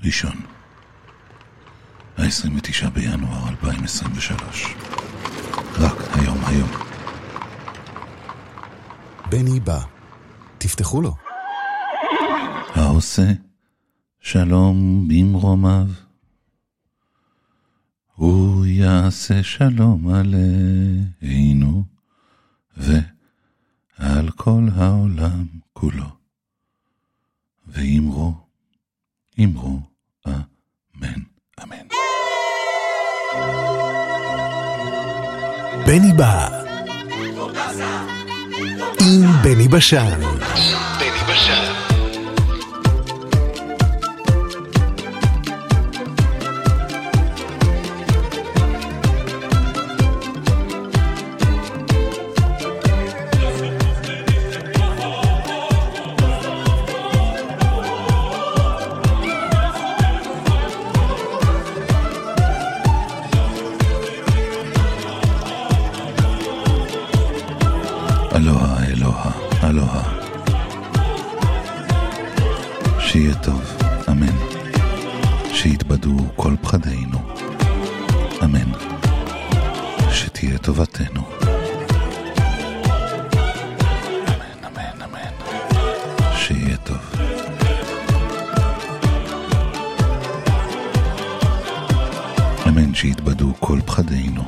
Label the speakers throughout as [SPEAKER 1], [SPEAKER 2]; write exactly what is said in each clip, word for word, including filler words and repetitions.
[SPEAKER 1] ראשון, ה-עשרים ותשעה בינואר אלפיים עשרים ושלוש. רק היום היום.
[SPEAKER 2] בני בא, תפתחו לו.
[SPEAKER 1] העושה שלום במרומיו, הוא יעשה שלום עלינו ועל כל העולם כולו. ואמרו, אמרו, אמן, אמן.
[SPEAKER 2] בני בא עם בני בשן. בני בשן.
[SPEAKER 1] אלוהה, אלוהה, אלוהה. שיהיה טוב, אמן. שיתבדו כל פחדינו, אמן. שתהיה טובתנו, אמן, אמן, אמן. שיהיה טוב. אמן, שיתבדו כל פחדינו,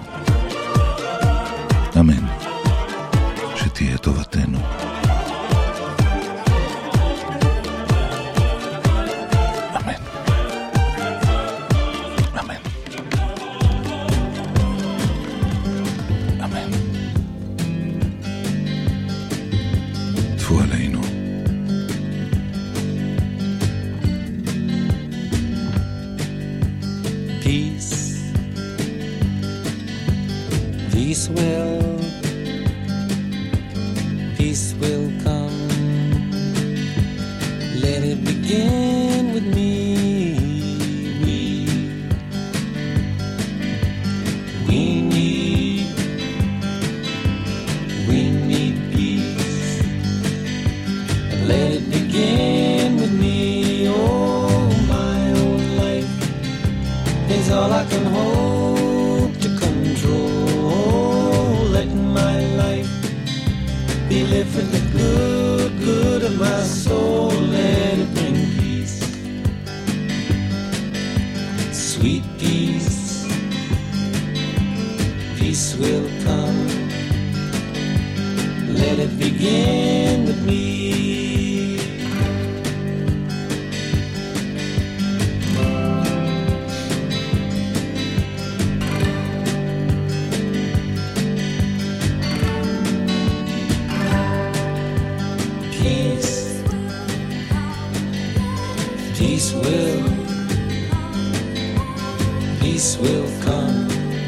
[SPEAKER 1] אמן. שתהיה טובתנו, אמן, אמן, אמן. טפו עלינו.
[SPEAKER 3] Peace, peace will Peace will come. Let it begin with me. We, we need, we need peace. And let it begin with me. Oh, my own life is all I can hope to control. Let my life be live for the good, good of my soul. Let it bring peace, sweet peace. Peace will come. Let it begin with me. Peace will, peace will come.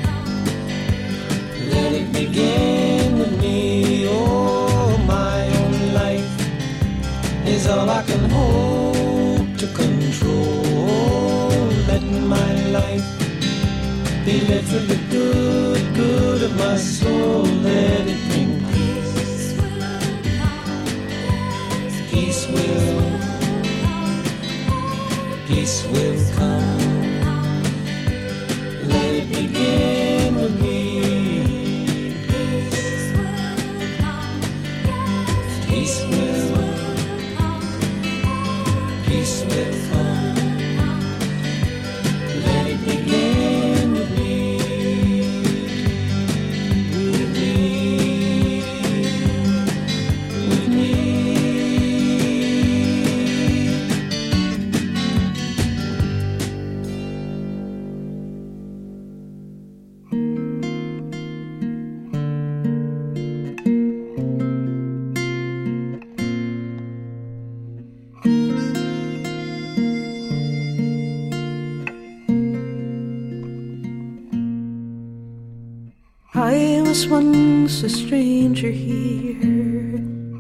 [SPEAKER 3] Let it begin with me. Oh, my own life is all I can hope to control. Let my life be lived for the good, good of my soul. Let it bring peace. Peace will, peace will come. Let it begin with me. Peace will, peace will come. Let it begin with me. With me, with me.
[SPEAKER 4] I was once a stranger here,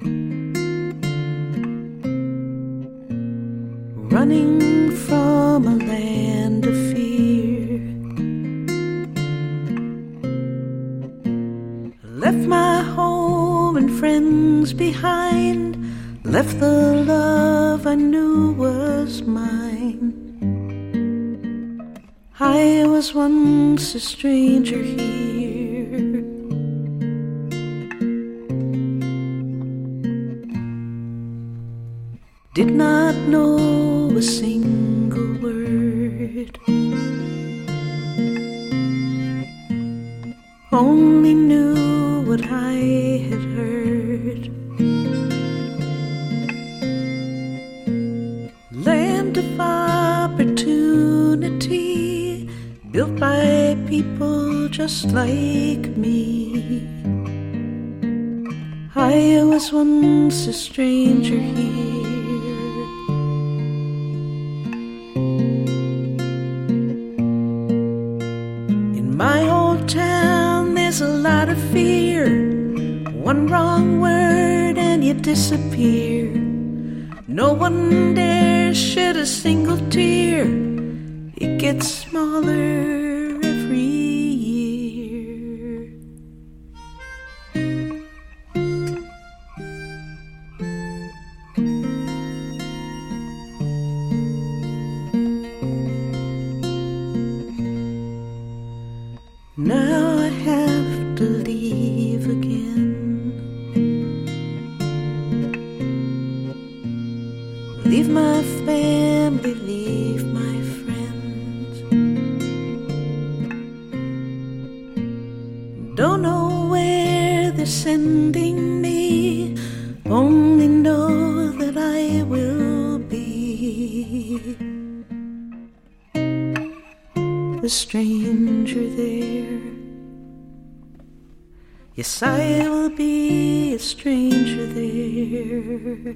[SPEAKER 4] running from a land of fear. Left my home and friends behind, left the love I knew was mine. I was once a stranger here. Did not know a single word, only knew what I had heard. Land of opportunity, built by people just like me. I was once a stranger here. In my old town there's a lot of fear. One wrong word and you disappear. No one dares shed a single tear. It gets smaller every year. Now I have to leave again. Leave my family, leave my friends. Don't know where they're sending me, only know that I will be a stranger there. Yes, I will be a stranger there.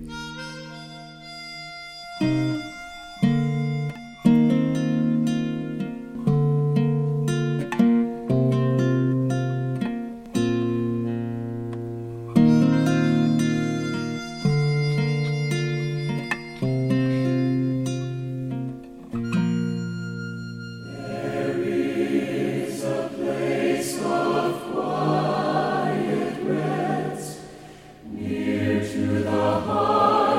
[SPEAKER 3] Near to the heart.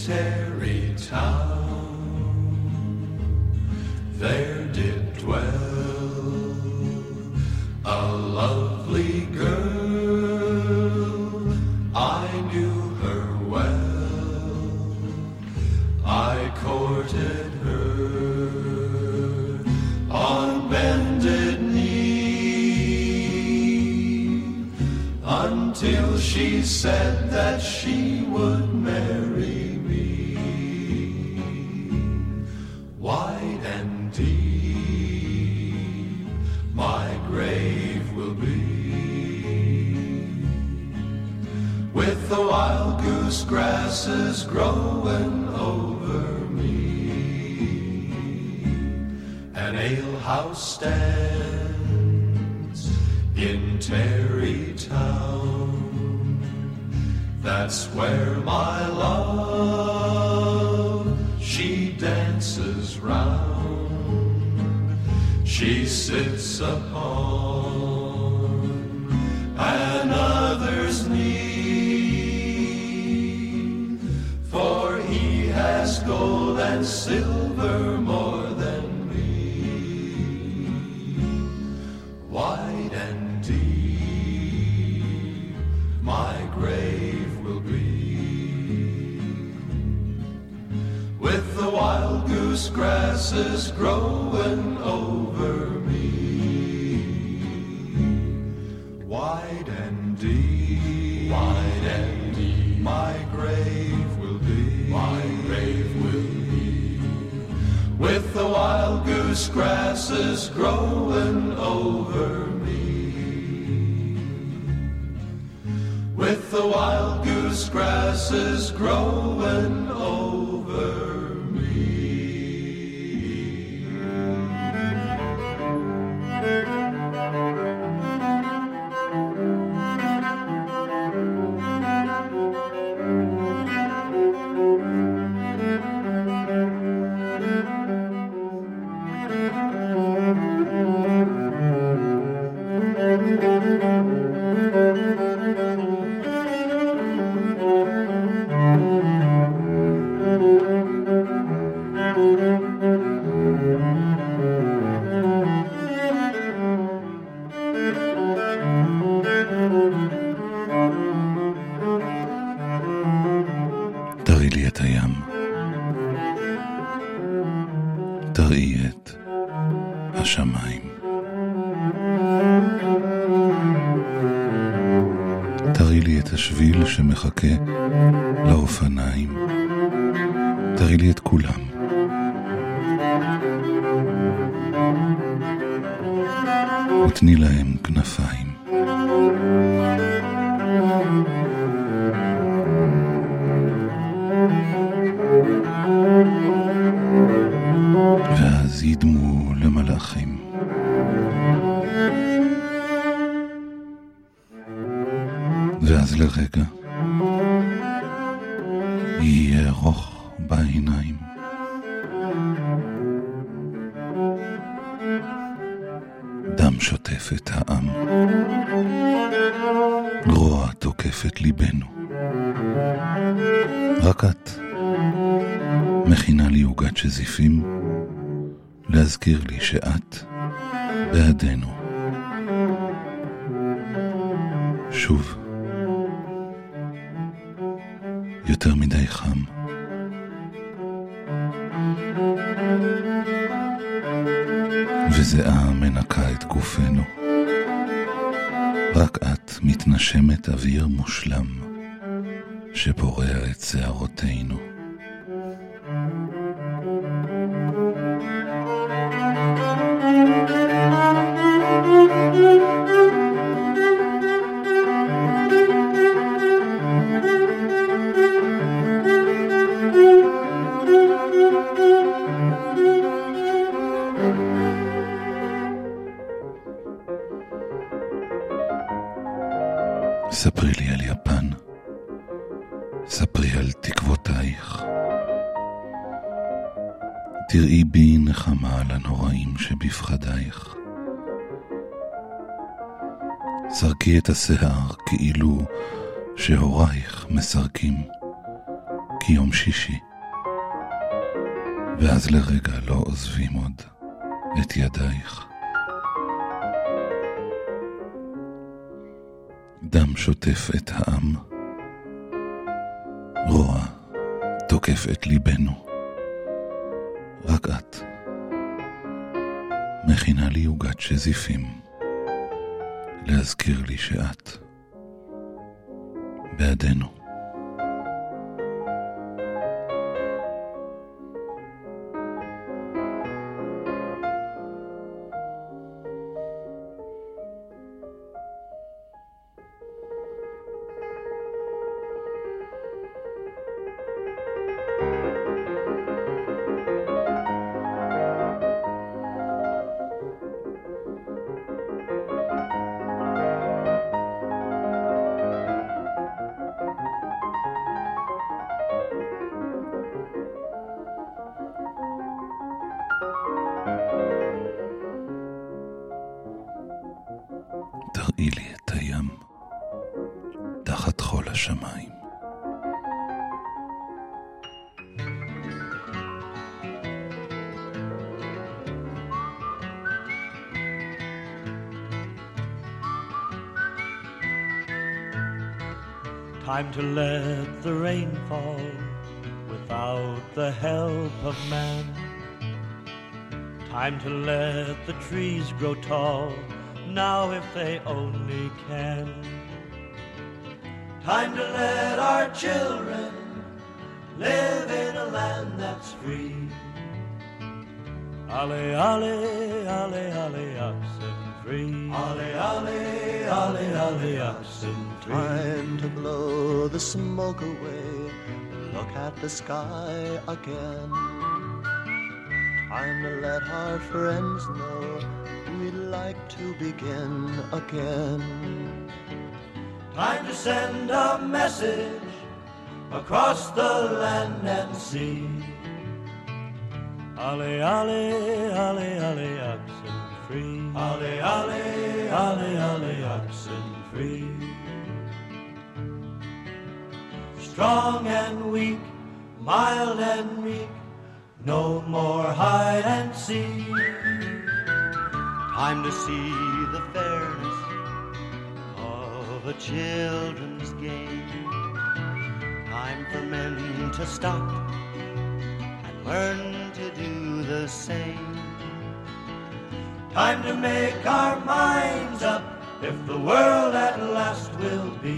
[SPEAKER 5] Tarrytown, there did dwell a lovely girl. I knew her well, I courted her on bended knee, until she said that she would marry me. Wide and deep my grave will be, with the wild goose grasses growing over me. An alehouse stands in Tarrytown, that's where my love she dances round. She sits upon another's knee, for he has gold and silver more than me. Wide and deep my grave will be, with the wild goose grasses growing over me. Wide and deep, wide and deep my grave will be, my grave will be, with the wild goose grasses growing over me. With the wild goose grasses growing over me.
[SPEAKER 1] תראי לי את הים, תראי את השמיים, תראי לי את השביל שמחכה לאופניים, תראי לי את כולם, ותני להם כנפיים. ואז ידמו למלאכים. ואז לרגע יהיה ארוך בעיניים. דם שוטף את העם, רוע תוקף את ליבנו. רק את מכינה לי עוגת שזיפים, להזכיר לי שאת בעדנו. שוב, יותר מדי חם. וזיעה מנקה את גופנו. רק את מתנשמת אוויר מושלם שפורע את שערותינו. ספרי לי על יפן, ספרי על תקוותייך. תראי בי נחמה על הנוראים שבפחדייך. סרקי את השיער כאילו שהורייך מסרקים, כי יום שישי, ואז לרגע לא עוזבים עוד את ידייך. דם שוטף את העם, רוע תוקף את ליבנו, רק את מכינה לי עוגת שזיפים, להזכיר לי שאת בעדנו. תראי לי את הים תחת חול השמיים.
[SPEAKER 6] Time to let the rain fall without the help of man. Time to let the trees grow tall now if they only can.
[SPEAKER 5] Time to let our children live in a land that's free.
[SPEAKER 6] Ale, ale, ale, ale, oxen free.
[SPEAKER 5] Ale, ale, ale, ale, oxen free.
[SPEAKER 7] Time to blow the smoke away, look at the sky again. Time to let our friends know we'd like to begin again.
[SPEAKER 5] Time to send a message across the land and sea.
[SPEAKER 6] Ale, ale, ale, ale, oxen free.
[SPEAKER 5] Ale, ale, ale, ale, oxen free. Strong and weak, mild and meek, no more hide and seek.
[SPEAKER 7] Time to see the fairness of a children's game. Time for men to stop and learn to do the same.
[SPEAKER 5] Time to make our minds up if the world at last will be.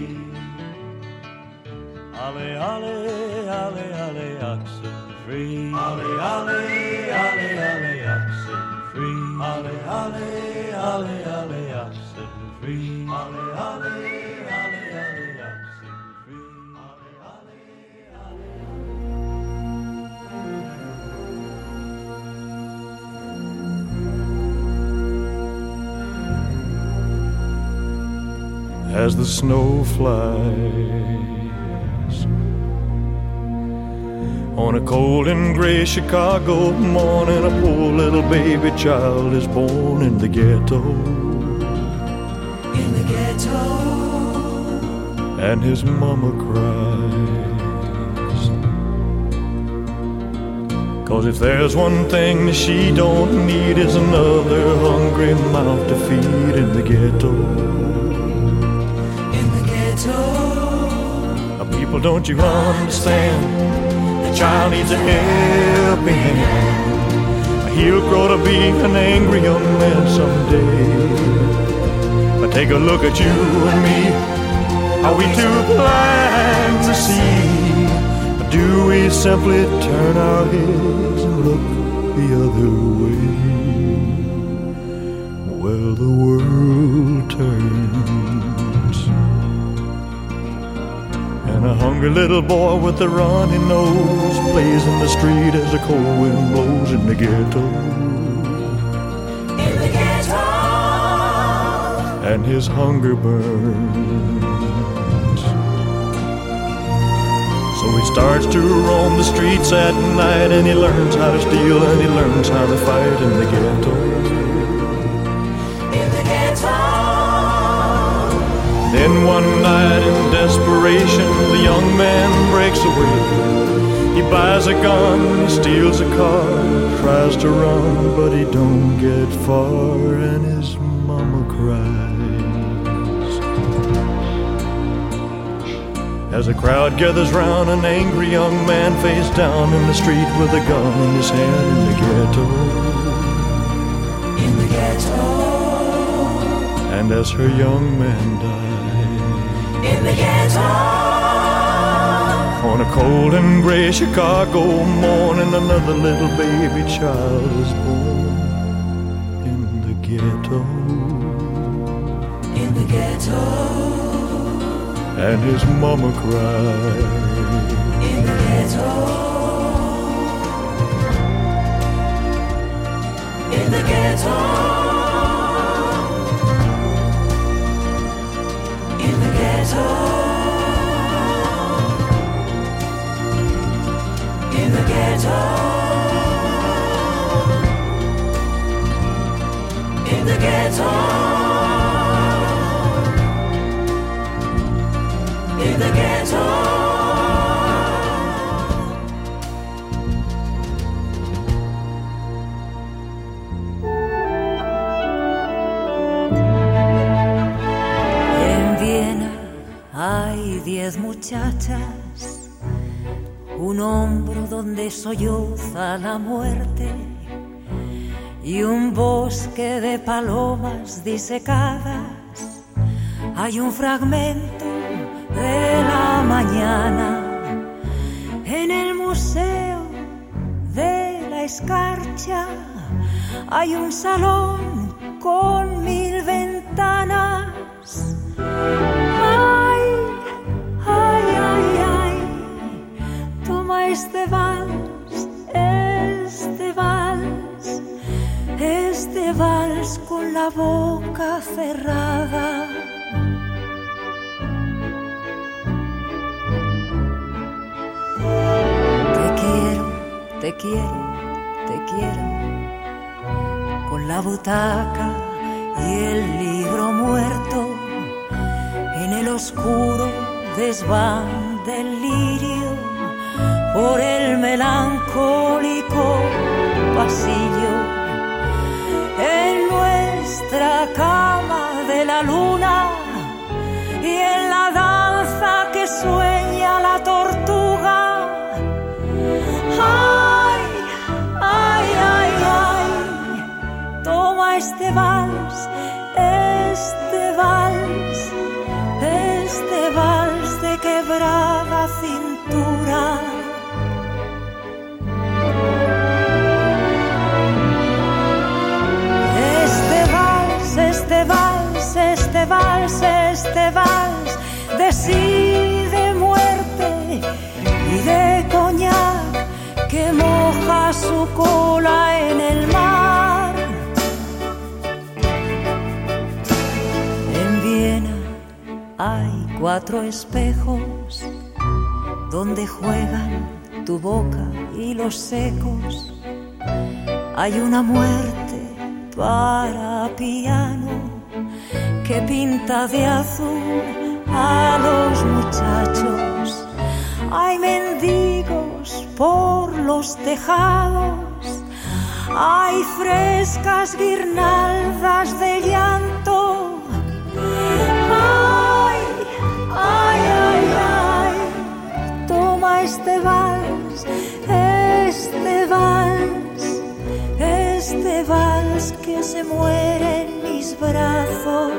[SPEAKER 6] Ale, ale, ale, ale, oxen free.
[SPEAKER 5] Ale, ale, ale, ale, oxen free. Ale, ale, ale, ale, oxen free. Ale, ale, ale, ale, oxen free. Ale, ale,
[SPEAKER 8] ale. As the snow flies on a cold and gray Chicago morning, a poor little baby child is born in the ghetto.
[SPEAKER 4] In the ghetto.
[SPEAKER 8] And his mama cries, 'cause if there's one thing that she don't need is another hungry mouth to feed in the ghetto.
[SPEAKER 4] In the ghetto.
[SPEAKER 8] People, don't you understand? The child needs a helping hand. He'll grow to be an angry young man someday. But take a look at you and me. Are we too blind to see? Or do we simply turn our heads and look the other way? Well, the world turns, and a hungry little boy with a runny nose plays in the street as the cold wind blows in the ghetto.
[SPEAKER 4] In the ghetto.
[SPEAKER 8] And his hunger burns. So he starts to roam the streets at night, and he learns how to steal and he learns how to fight in the ghetto.
[SPEAKER 4] In the ghetto.
[SPEAKER 8] Then one night in desperation, the young man breaks away. He buys a gun, he steals a car, tries to run, but he don't get far, and his mama cries. As a crowd gathers round, an angry young man face down in the street with a gun in his hand in the ghetto.
[SPEAKER 3] In the ghetto.
[SPEAKER 8] And as her young man died,
[SPEAKER 3] in the ghetto.
[SPEAKER 8] On a cold and gray Chicago morning, another little baby child is born in the ghetto.
[SPEAKER 3] In the ghetto.
[SPEAKER 8] And his mama cried.
[SPEAKER 3] In the ghetto. In the ghetto. In the ghetto. In the ghetto. In the ghetto. In the ghetto.
[SPEAKER 9] En Viena hay diez muchachas, un hombro donde solloza la muerte y un bosque de palomas disecadas. Hay un fragmento de la mañana en el museo de la escarcha. Hay un salón con mil ventanas. Ay, ay, ay, ay, toma este vals, este vals, este vals con la boca cerrada. Te quiero, te quiero, con la butaca y el libro muerto, en el oscuro desván del lirio, por el melancólico pasillo, en nuestra cama de la luna y en la danza que sueña la tortuga. Ay, ay, ay, ay, toma este vals, este vals, este vals de quebrada cintura. Este vals, este vals, este vals, este vals de sí, de muerte y de coñac que moja su cola en el mar. En Viena hay cuatro espejos donde juegan tu boca y los secos. Hay una muerte para piano que pinta de azul a los muchachos. Hay mendigos por los tejados, hay frescas guirnaldas de llanto. Ay, ay, ay, ay, toma este vals, este vals, este vals que se muere en mis brazos.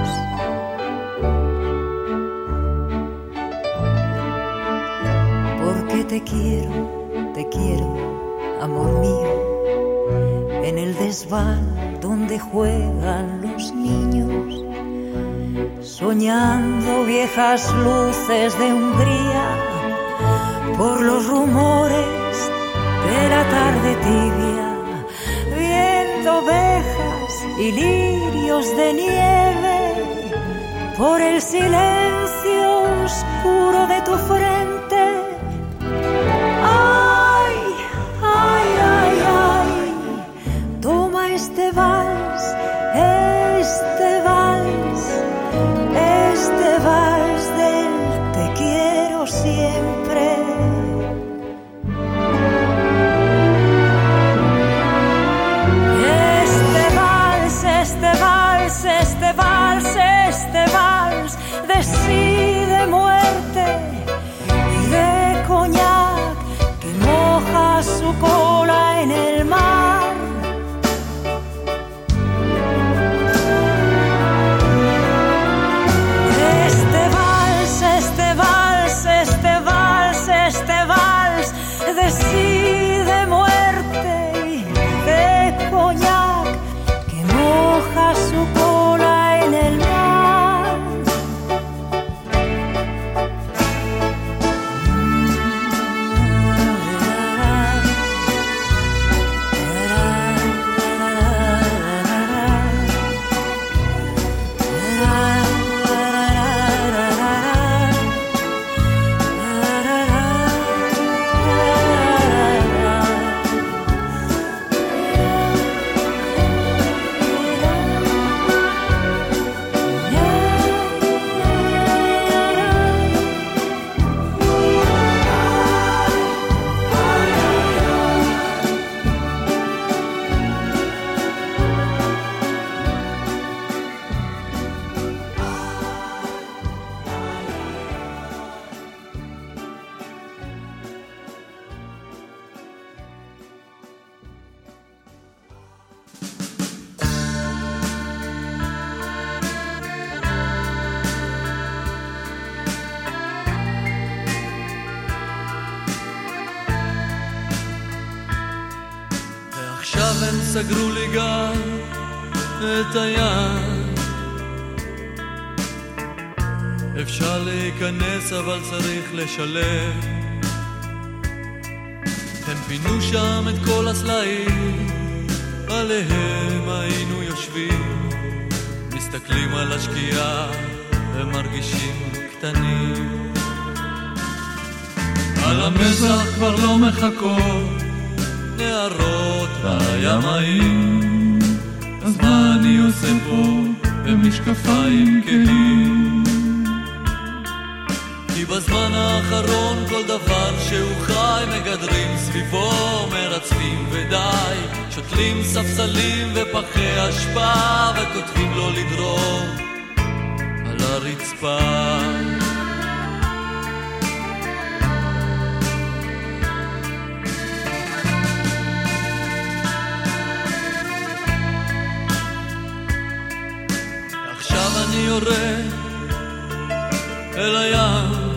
[SPEAKER 9] Porque te quiero, te quiero, amor mío, en el desván donde juegan los niños, soñando viejas luces de Hungría, por los rumores de la tarde tibia, viendo ovejas y lirios de nieve, por el silencio oscuro de tu frente. Ay, ay, ay, ay, toma este vals, este vals, este de muerte y de coñac que moja su cola en el mar. Este vals, este vals, este vals, este vals de sí, de muerte y de coñac que moja su cola en el mar.
[SPEAKER 3] סגרו לי גם את היד, אפשר להיכנס אבל צריך לשלם. הם פינו שם את כל הסלעים, עליהם היינו יושבים, מסתכלים על השקיעה ומרגישים קטנים. על המזח כבר לא מחכות נערות והימאים, אז מה אני עושה פה במשקפיים כהים? כי בזמן האחרון כל דבר שהוא חי מגדרים סביבו, מרצפים ודי, שותלים ספסלים ופחי אשפה וכותבים לו לדרור על הרצפה. אני יורד אל הים,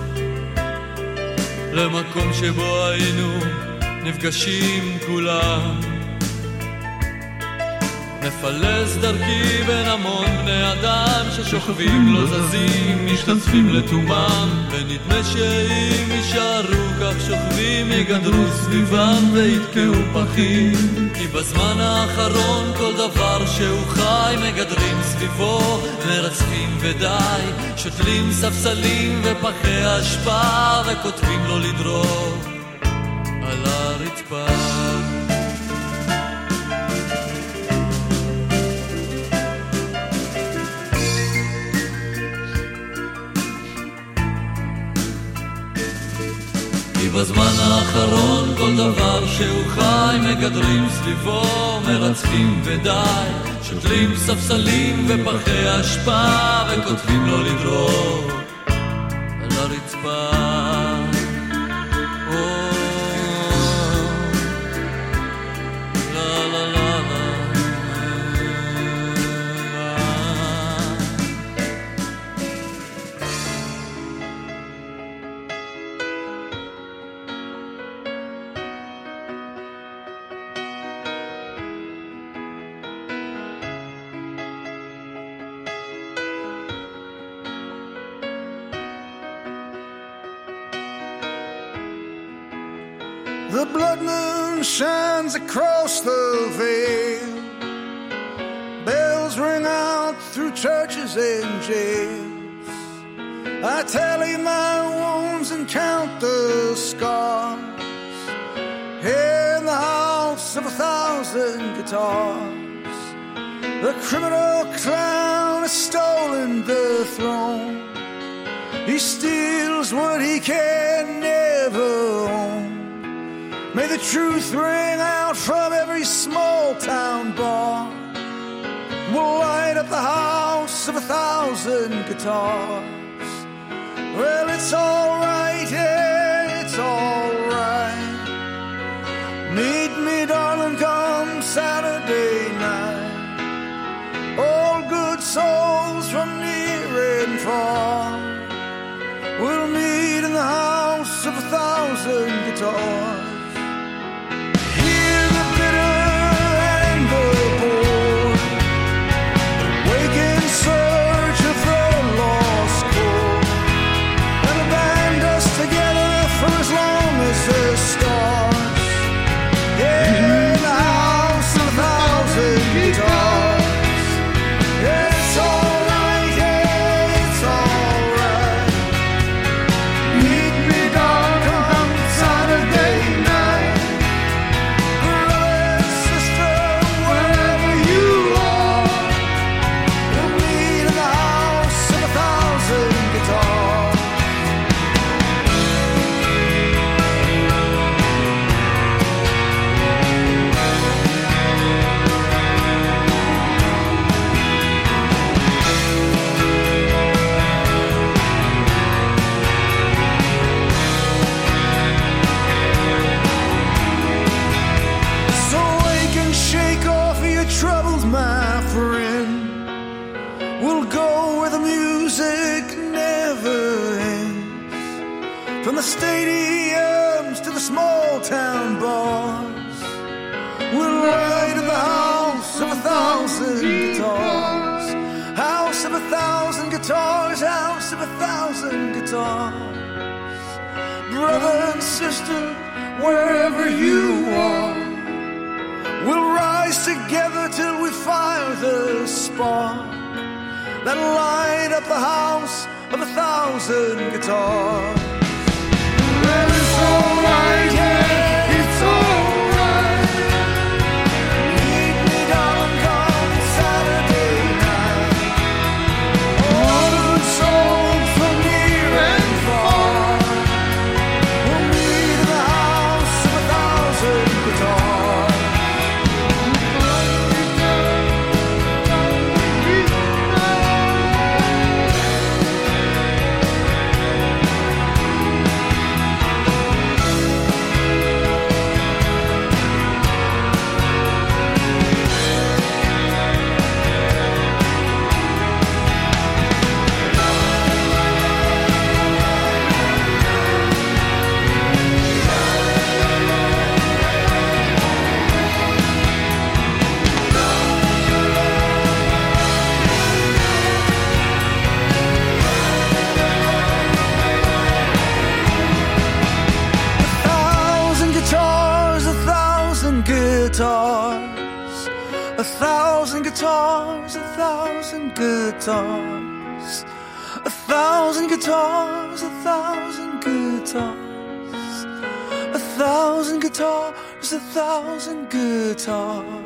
[SPEAKER 3] למקום שבו היינו נפגשים כולם, מפלס דרכי בין המון בני אדם ששוכבים לא זזים, משתזפים לתומם, ונדמה שאם יישארו כך שוכבים יגדרו סביבם ויתקעו פחים. כי בזמן האחרון כל דבר שהוא חי מגדרים סביבו, מרצפים ודי, שותלים ספסלים ופחי אשפה וכותבים לו לדרור על הרצפה. בזמן האחרון כל דבר שהוא חי מגדרים סביבו, מרצפים ודי, שותלים ספסלים ופחי אשפה וכותבים לו לדרור על הרצפה.
[SPEAKER 10] The blood moon shines across the veil, bells ring out through churches and jails. I tally my wounds and count the scars, here in the house of a thousand guitars. The criminal clown has stolen the throne, he steals what he can never own. May the truth ring out from every small town bar, we'll light up the house of a thousand guitars. guitars. Hear the bitter and the bored, wake in search of the lost chord, and the band us together for as long as the stars. Yeah, in the house of a thousand guitars. Yeah, it's alright, yeah, it's alright. Meet me, darling, on Saturday night. Brother and sister, wherever you are, we'll meet in the house of a thousand guitars. So wake and shake off your troubles, my friend. We'll go where the music never ends. From the stadiums to the small town bars, we'll ride in the house of a thousand guitars. House of a thousand guitars, house of a thousand guitars. Brother and sister, wherever you are, we'll rise together till we fire the spark that'll light up the house of a thousand guitars. Well, it's alright, yeah, it's alright. Meet me, darling, come Saturday night. All the souls from near and far, we'll meet in the house of a thousand guitars. A thousand guitars, a thousand guitars, a thousand guitars, a thousand guitars, a thousand guitars, a thousand guitars.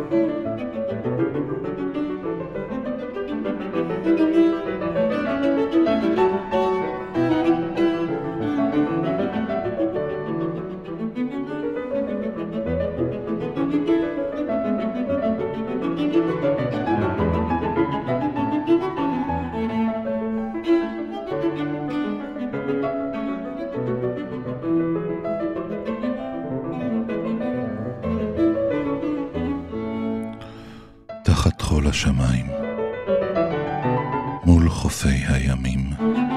[SPEAKER 1] תחת חול השמיים, מול חופי הימים,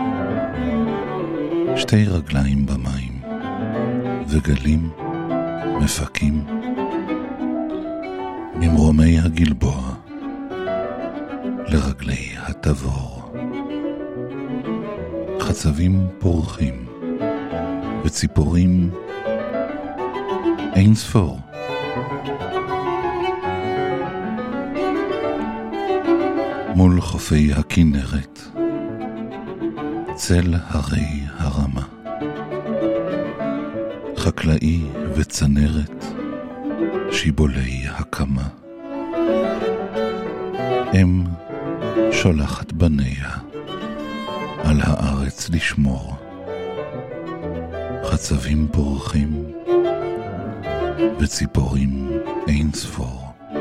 [SPEAKER 1] שתי רגליים במים, וגלים מפקים, ממרומי הגלבוע, לרגלי התבור. חצבים פורחים, וציפורים אין ספור. מול חופי הכנרת, צל הרי הרמה, חקלאי וצנרת, שיבולי הקמה. אם שולחת בניה על הארץ לשמור, חצבים פורחים וציפורים אין ספור.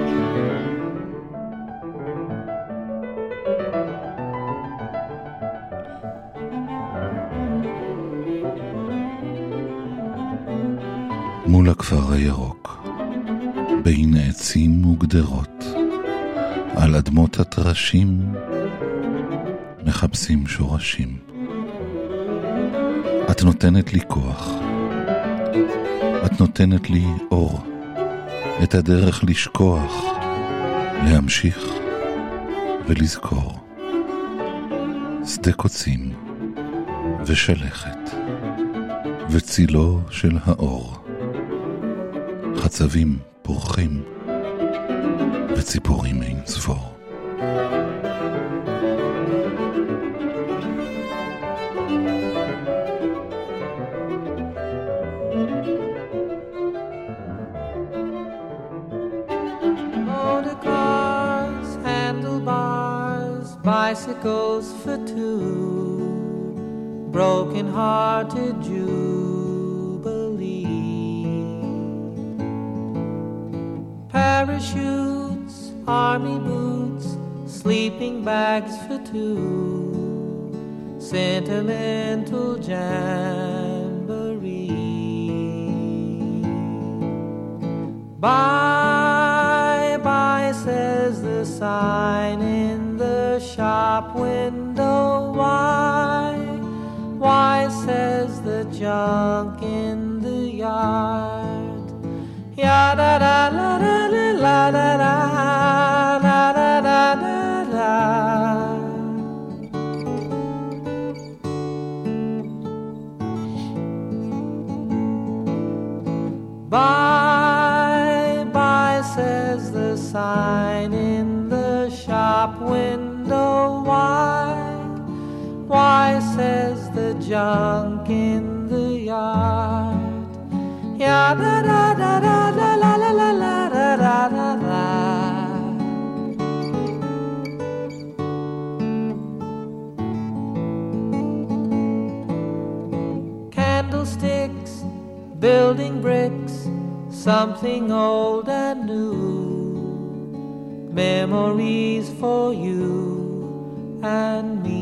[SPEAKER 1] מול הכפר הירוק, בין עצים וגדרות, על אדמות הטרשים מחפשים שורשים. את נותנת לי כוח, את נותנת לי אור, את הדרך לשכוח, להמשיך ולזכור. שדה קוצים ושלכת וצילו של האור, חצבים פורחים וציפורים אין ספור.
[SPEAKER 3] Motor cars, handlebars, bicycles for two, broken-hearted jubilee. Parachutes, army boots, sleeping bags for two, sentimental jamboree. Bye, bye, says the sign in the shop window. Why, why, says the junk in the yard. Ya-da-da-la-da-la-la-da-da, la-da-da-da-da. Bye, bye, says the sign in the shop window. Why, why, says the junk in the yard. Ya-da-da-da-da-da-la-la-la-la-da-da-da. Candlesticks, building bricks, something old and new, memories for you and me.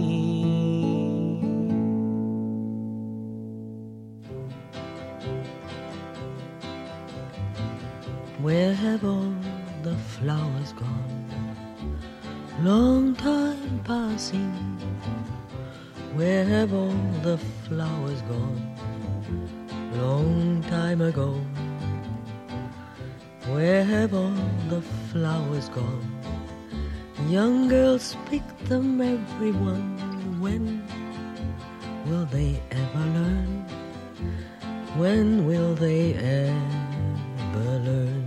[SPEAKER 11] Where have all the flowers gone? Long time passing. Where have all the flowers gone? Long time ago. Where have all the flowers gone? Young girls pick them, everyone. When will they ever learn? When will they ever learn?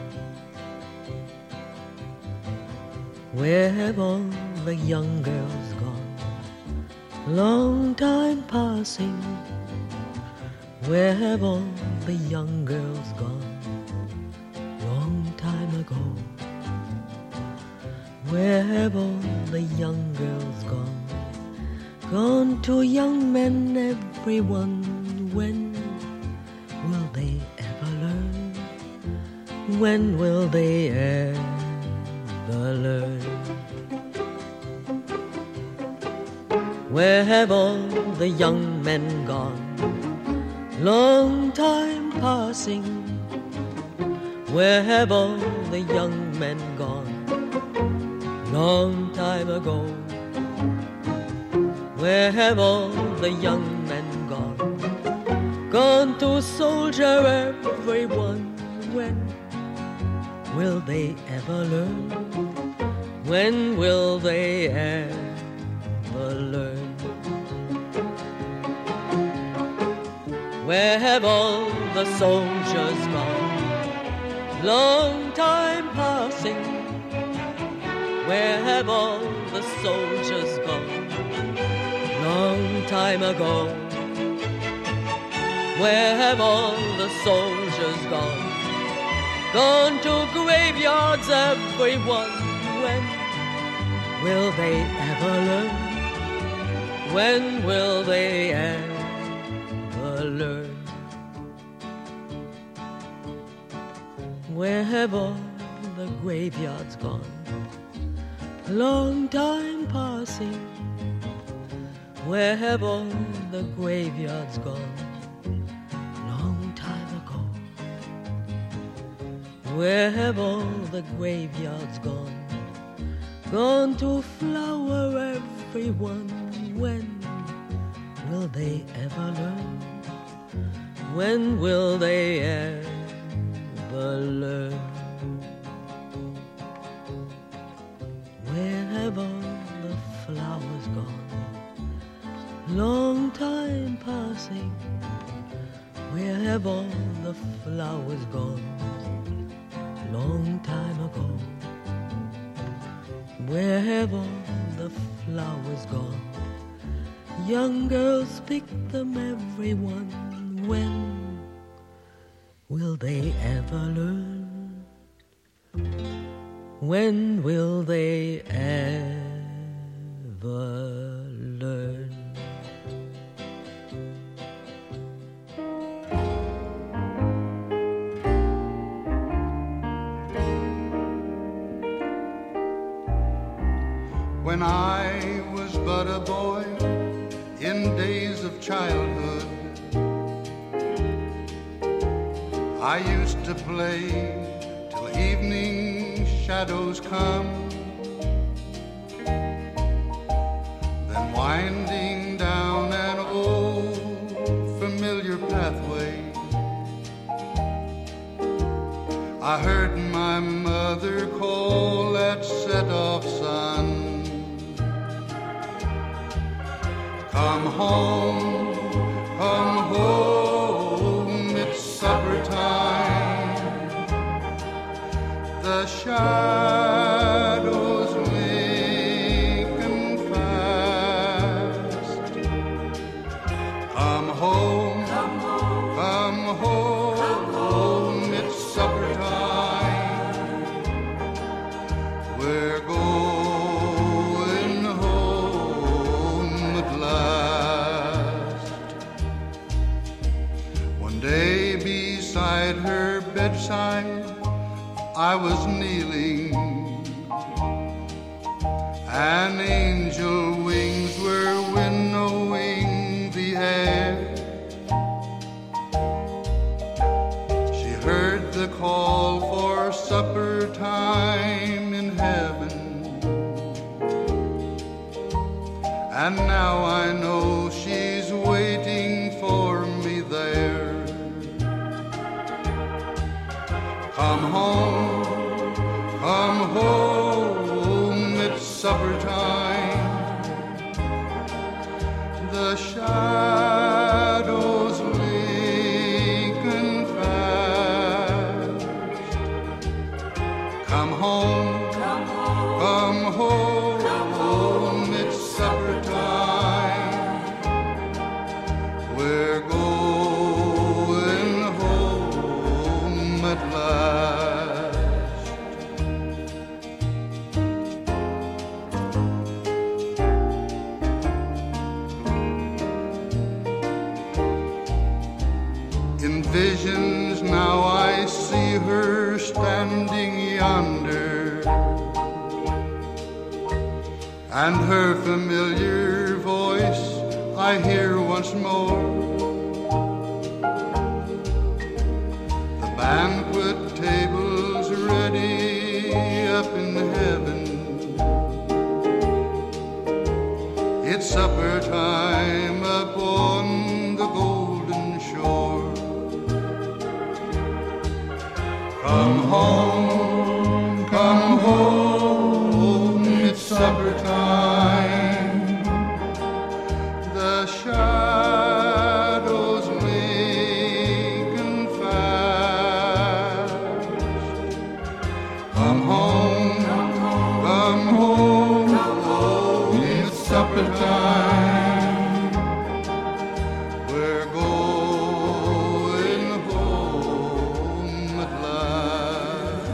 [SPEAKER 11] Where have all the young girls gone? Long time passing. Where have all the young girls gone? Long time ago. Where have all the young girls gone? Gone to young men, everyone. When will they ever learn? When will they ever learn? Where have all the young men gone? Long time passing. Where have all the young men gone? Long time ago. Where have all the young men gone? Gone to soldier everyone. When will they ever learn? When will they ever learn? Where have all the soldiers gone? Long time passing. Where have all the soldiers gone? Long time ago. Where have all the soldiers gone? Gone to graveyards, everyone. When will they ever learn? When will they ever learn? Where have all the graveyards gone? Long time passing. Where have all the graveyards gone? Long time ago. Where have all the graveyards gone? Gone to flower everyone. When will they ever learn? When will they ever learn? Where have all the flowers gone? Long time passing. Where have all the flowers gone? Long time ago. Where have all the flowers gone? Young girls pick them, everyone. When will they ever learn? When will they ever learn?
[SPEAKER 10] When I was but a boy in days of childhood, I used to play till evening shadows come. Then winding down an old familiar pathway, I heard my mother call at set off sun. Come home, come home, it's supper time. The shadows lengthen fast. Come home, come home, come home, come home, it's supper time. We're going home at last. One day beside her bedside I was kneeling, and angel wings were winnowing the air. She heard the call for supper time in heaven, and now I know she's waiting for me there. Come home, come home, it's supper time. The shadows lengthen fast. Come home, come home, come home, come home, it's supper time. We're going home at last.
[SPEAKER 12] yonder, and her familiar voice I hear once more. The banquet table's ready up in heaven. It's supper time upon the golden shore. Come home, come home, it's supper time. The shadows making fast. Come home, come home, home, it's supper time. We're going home at last.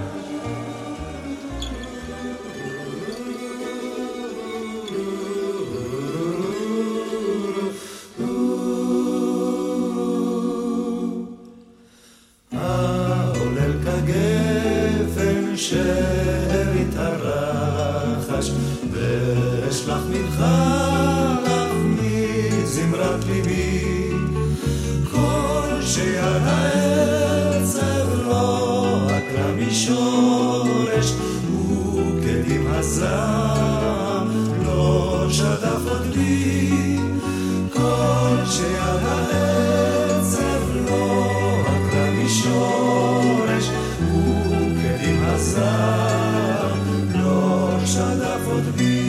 [SPEAKER 5] העולל כגפן שארית הרחש, ואשלח מנחה לך מזמרת ליבי, כל שיד העצב לא עקרה משורש, וכדים הזעם לא שדף עוד בי, כל שיד העצב לא עקרה משורש, וכדים הזעם לא שדף עוד בי.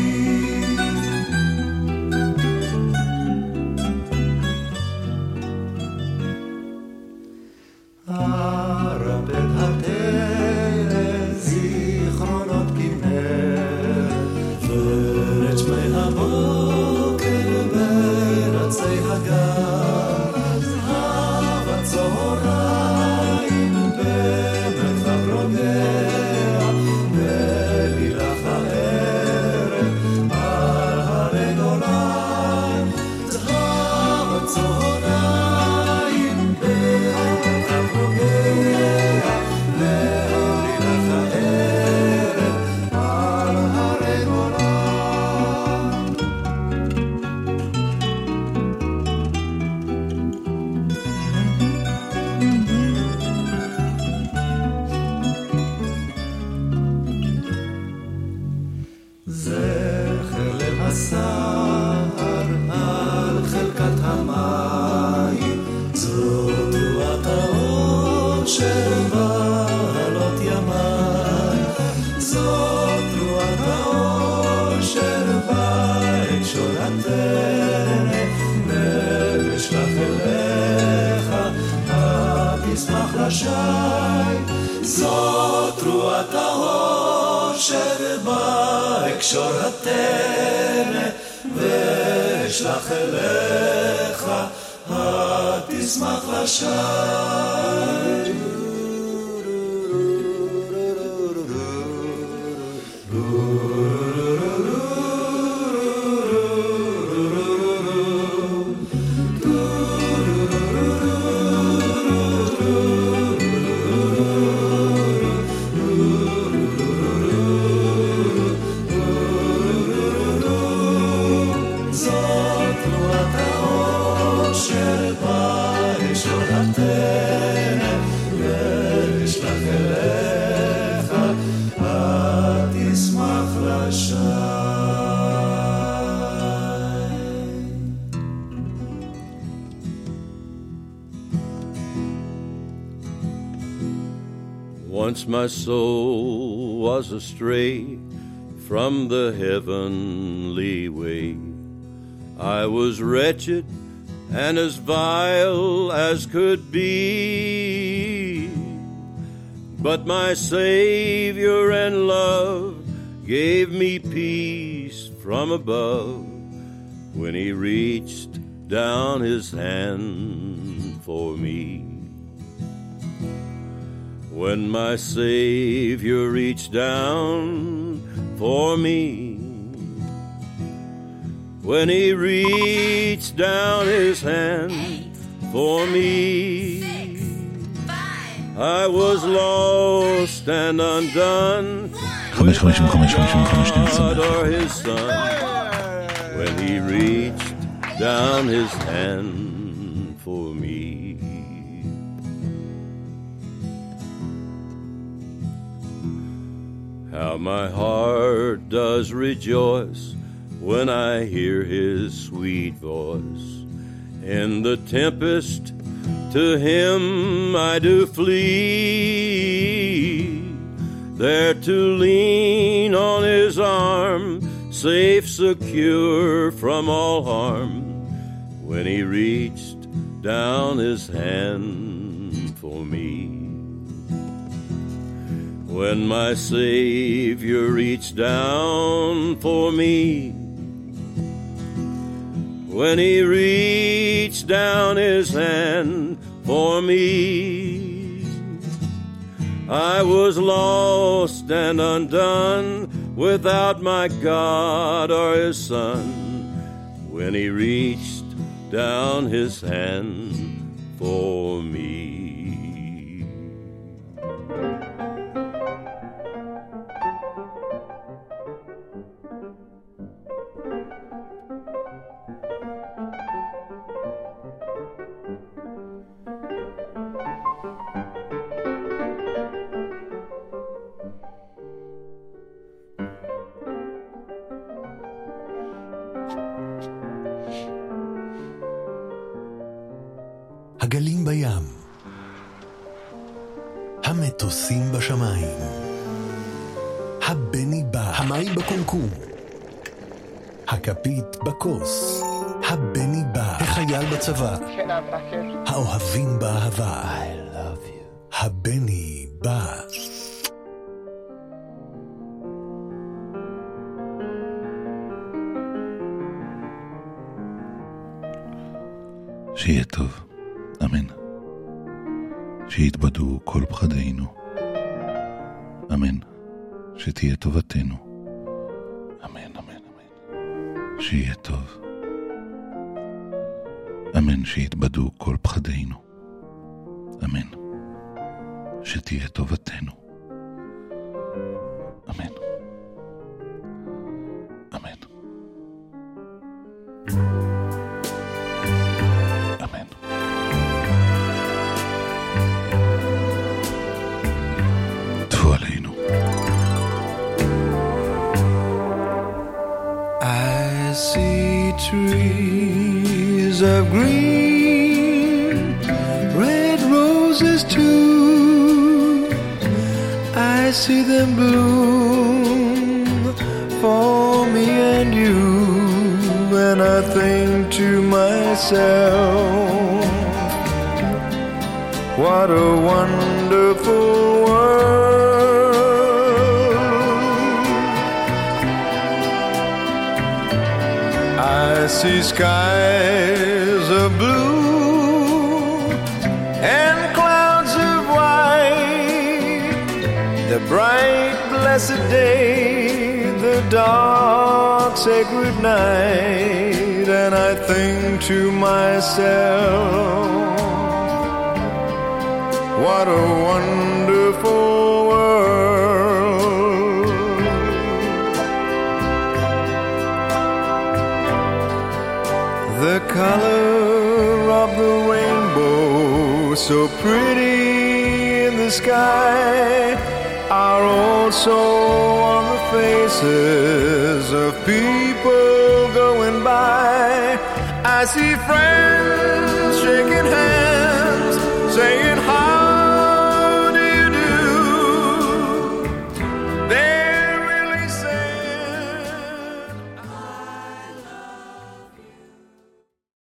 [SPEAKER 5] הרפד התרן זיכרונות כנרת, ואת שמי הבוקר ברצי הגן, זהב הצהריים במרחב רוגע, ולילך הערב על הרי גולן, זהב הצהריים במרחב רוגע, ולילך הערב על הרי גולן. זכר ליל הסער על חלקת המים, זאת רוח האושר בעלות ימיים, זאת רוח האושר בהקשור הטרן, ואשלח אליך התשמח לשי, זאת רוח האושר בהקשור הטרן, ואשלח אליך התשמח לשי. זאת רוח האושר בהקשור הטרן, ואשלח אליך התשמח לשי.
[SPEAKER 6] Once my soul was astray from the heavenly way. I was wretched and as vile as could be, but my Savior and love gave me peace from above when He reached down His hand for me. When my Savior reached down for me, when He reached down His hand for me,
[SPEAKER 13] I was lost and undone
[SPEAKER 1] חמש חמישים וחמש חמישים וחמש
[SPEAKER 13] God or his son when he reached down his hand for me. How my heart does rejoice when I hear his sweet voice. In the tempest to him I do flee, there to lean on his arm, safe, secure from all harm, when he reached down his hand for me. When my Savior reached down for me, when he reached down his hand for me, I was lost and undone without my God or his son, when he reached down his hand for me.
[SPEAKER 2] הגלים בים, המטוסים בשמיים, הבני בא, המים בקומקום, הכפית בכוס, הבני בא, החייל בצבא, האוהבים באהבה, I love you, הבני בא.
[SPEAKER 1] שיהיה טוב, אמן. שיתבדו כל פחדינו, אמן. שתהיה טובתנו, אמן, אמן, אמן. שיהיה טוב, אמן. שיתבדו כל פחדינו, אמן. שתהיה טובתנו, אמן, אמן.
[SPEAKER 10] I see trees of green, red roses too. I see them bloom for me and you, and I think to myself, what a wonderful world. I see skies of blue and clouds of white, the bright blessed day, the dark sacred night, and I think to myself, what a wonderful world. The color of the rainbow, so pretty in the sky, are also on the faces of people going by. I see friends